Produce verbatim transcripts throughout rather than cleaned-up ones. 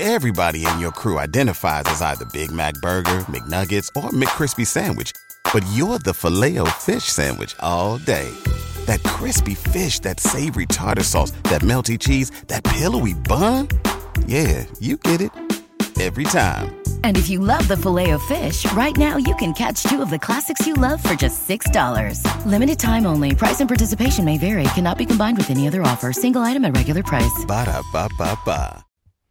Everybody in your crew identifies as either Big Mac Burger, McNuggets, or McCrispy Sandwich. But you're the Filet-O-Fish Sandwich all day. That crispy fish, that savory tartar sauce, that melty cheese, that pillowy bun. Yeah, you get it. Every time. And if you love the Filet-O-Fish, right now you can catch two of the classics you love for just six dollars. Limited time only. Price and participation may vary. Cannot be combined with any other offer. Single item at regular price. Ba-da-ba-ba-ba.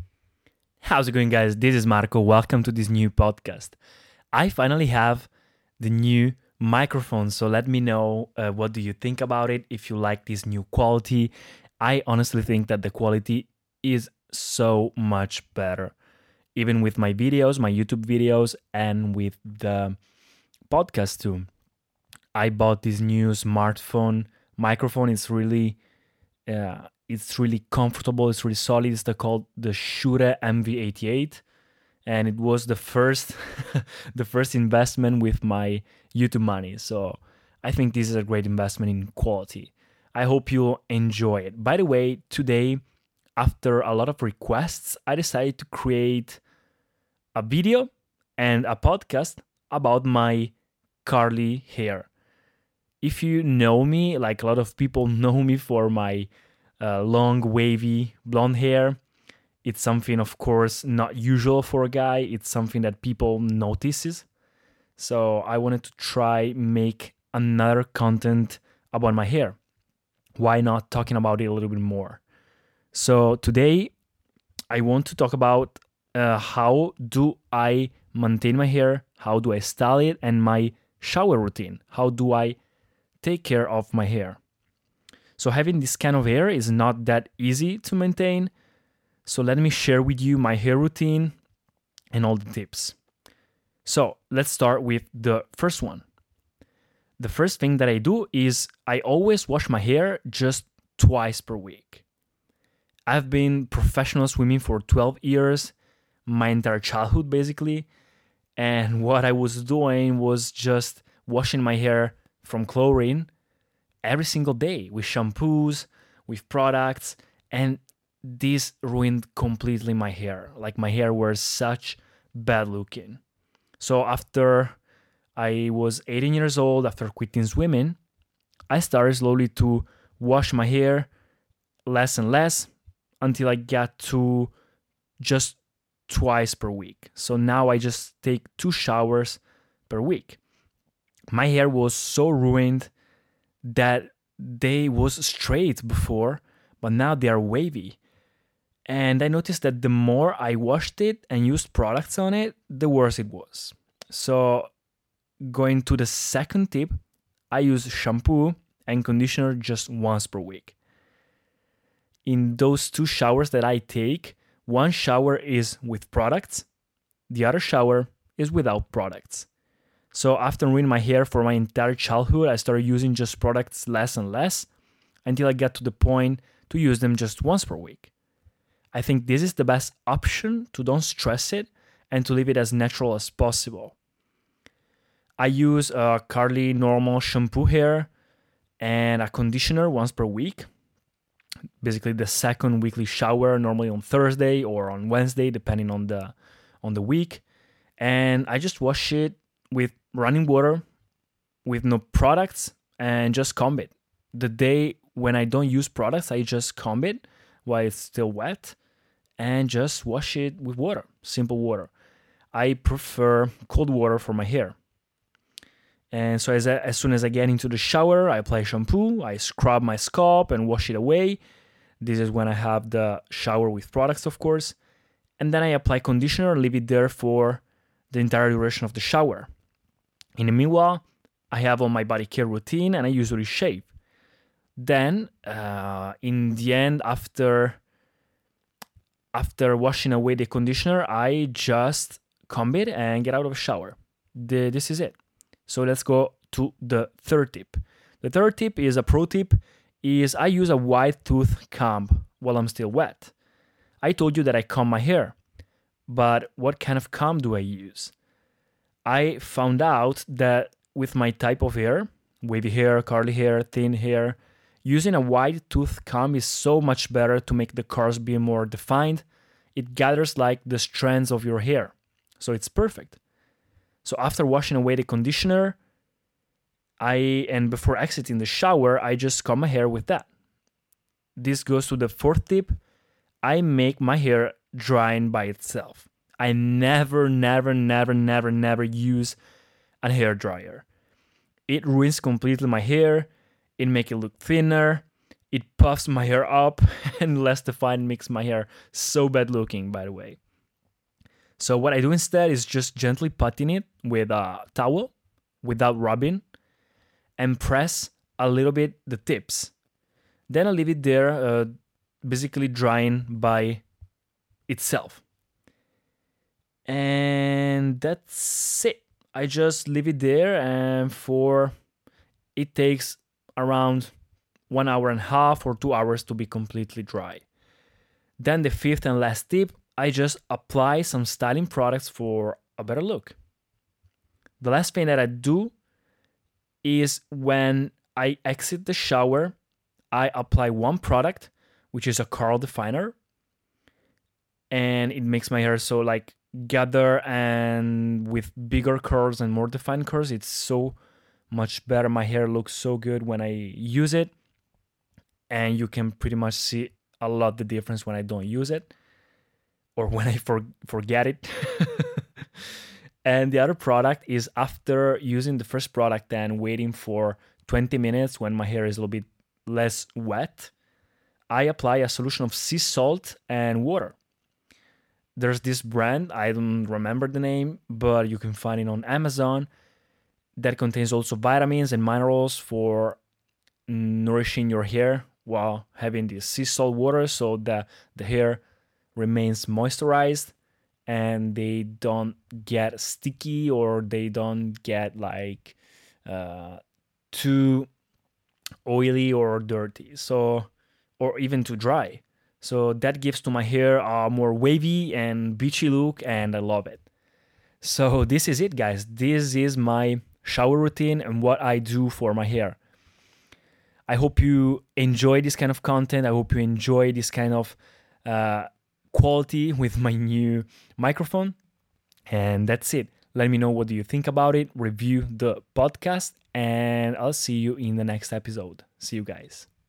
How's it going, guys? This is Marco. Welcome to this new podcast. I finally have the new microphone, so let me know uh, what do you think about it, if you like this new quality. I honestly think that the quality is so much better, even with my videos, my YouTube videos, and with the podcast too. I bought this new smartphone microphone. It's really uh, it's really comfortable. It's really solid. It's the, called the Shure M V eighty-eight. And it was the first the first investment with my YouTube money. So I think this is a great investment in quality. I hope you'll enjoy it. By the way, today, after a lot of requests, I decided to create a video and a podcast about my curly hair. If you know me, like a lot of people know me for my uh, long, wavy blonde hair, it's something, of course, not usual for a guy. It's something that people notices. So I wanted to try make another content about my hair. Why not talking about it a little bit more? So today I want to talk about uh, how do I maintain my hair, how do I style it, and my shower routine. How do I take care of my hair? So having this kind of hair is not that easy to maintain. So let me share with you my hair routine and all the tips. So let's start with the first one. The first thing that I do is I always wash my hair just twice per week. I've been professional swimming for twelve years, my entire childhood basically. And what I was doing was just washing my hair from chlorine every single day with shampoos, with products, and this ruined completely my hair. Like my hair was such bad looking. So after I was eighteen years old, after quitting swimming, I started slowly to wash my hair less and less until I got to just twice per week. So now I just take two showers per week. My hair was so ruined that they was straight before, but now they are wavy. And I noticed that the more I washed it and used products on it, the worse it was. So going to the second tip, I use shampoo and conditioner just once per week. In those two showers that I take, one shower is with products, the other shower is without products. So after ruining my hair for my entire childhood, I started using just products less and less until I got to the point to use them just once per week. I think this is the best option to don't stress it and to leave it as natural as possible. I use a curly normal shampoo hair and a conditioner once per week. Basically the second weekly shower, normally on Thursday or on Wednesday, depending on the on the week. And I just wash it with running water, with no products, and just comb it. The day when I don't use products, I just comb it while it's still wet and just wash it with water, simple water. I prefer cold water for my hair. And so as, I, as soon as I get into the shower, I apply shampoo, I scrub my scalp and wash it away. This is when I have the shower with products, of course. And then I apply conditioner, leave it there for the entire duration of the shower. In the meanwhile, I have on my body care routine and I usually shave. Then, uh, in the end, after after washing away the conditioner, I just comb it and get out of the shower. The, this is it. So let's go to the third tip. The third tip is a pro tip, is I use a wide tooth comb while I'm still wet. I told you that I comb my hair, but what kind of comb do I use? I found out that with my type of hair, wavy hair, curly hair, thin hair, using a wide tooth comb is so much better to make the curls be more defined. it gathers like the strands of your hair. So it's perfect. So after washing away the conditioner, I and before exiting the shower, I just comb my hair with that. This goes to the fourth tip. I make my hair drying by itself. I never, never, never, never, never use a hair dryer. It ruins completely my hair. It makes it look thinner. It puffs my hair up, and less defined makes my hair so bad looking, by the way. So what I do instead is just gently putting it with a towel without rubbing and press a little bit the tips. Then I leave it there, uh, basically drying by itself. And that's it. I just leave it there, and for it takes around one hour and a half or two hours to be completely dry. Then the fifth and last tip, I just apply some styling products for a better look. The last thing that I do is when I exit the shower, I apply one product, which is a curl definer, and it makes my hair so like gather and with bigger curls and more defined curls. It's so much better. My hair looks so good when I use it, and you can pretty much see a lot the difference when I don't use it or when I for, forget it. And the other product is after using the first product and waiting for twenty minutes when my hair is a little bit less wet, I apply a solution of sea salt and water. There's this brand, I don't remember the name, but you can find it on Amazon, that contains also vitamins and minerals for nourishing your hair while having this sea salt water, so that the hair remains moisturized and they don't get sticky or they don't get like uh, too oily or dirty, so or even too dry. So that gives to my hair a more wavy and beachy look, and I love it. So this is it, guys. This is my shower routine and what I do for my hair. I hope you enjoy this kind of content. I hope you enjoy this kind of uh, quality with my new microphone. And that's it. Let me know what do you think about it. Review the podcast, and I'll see you in the next episode. See you guys.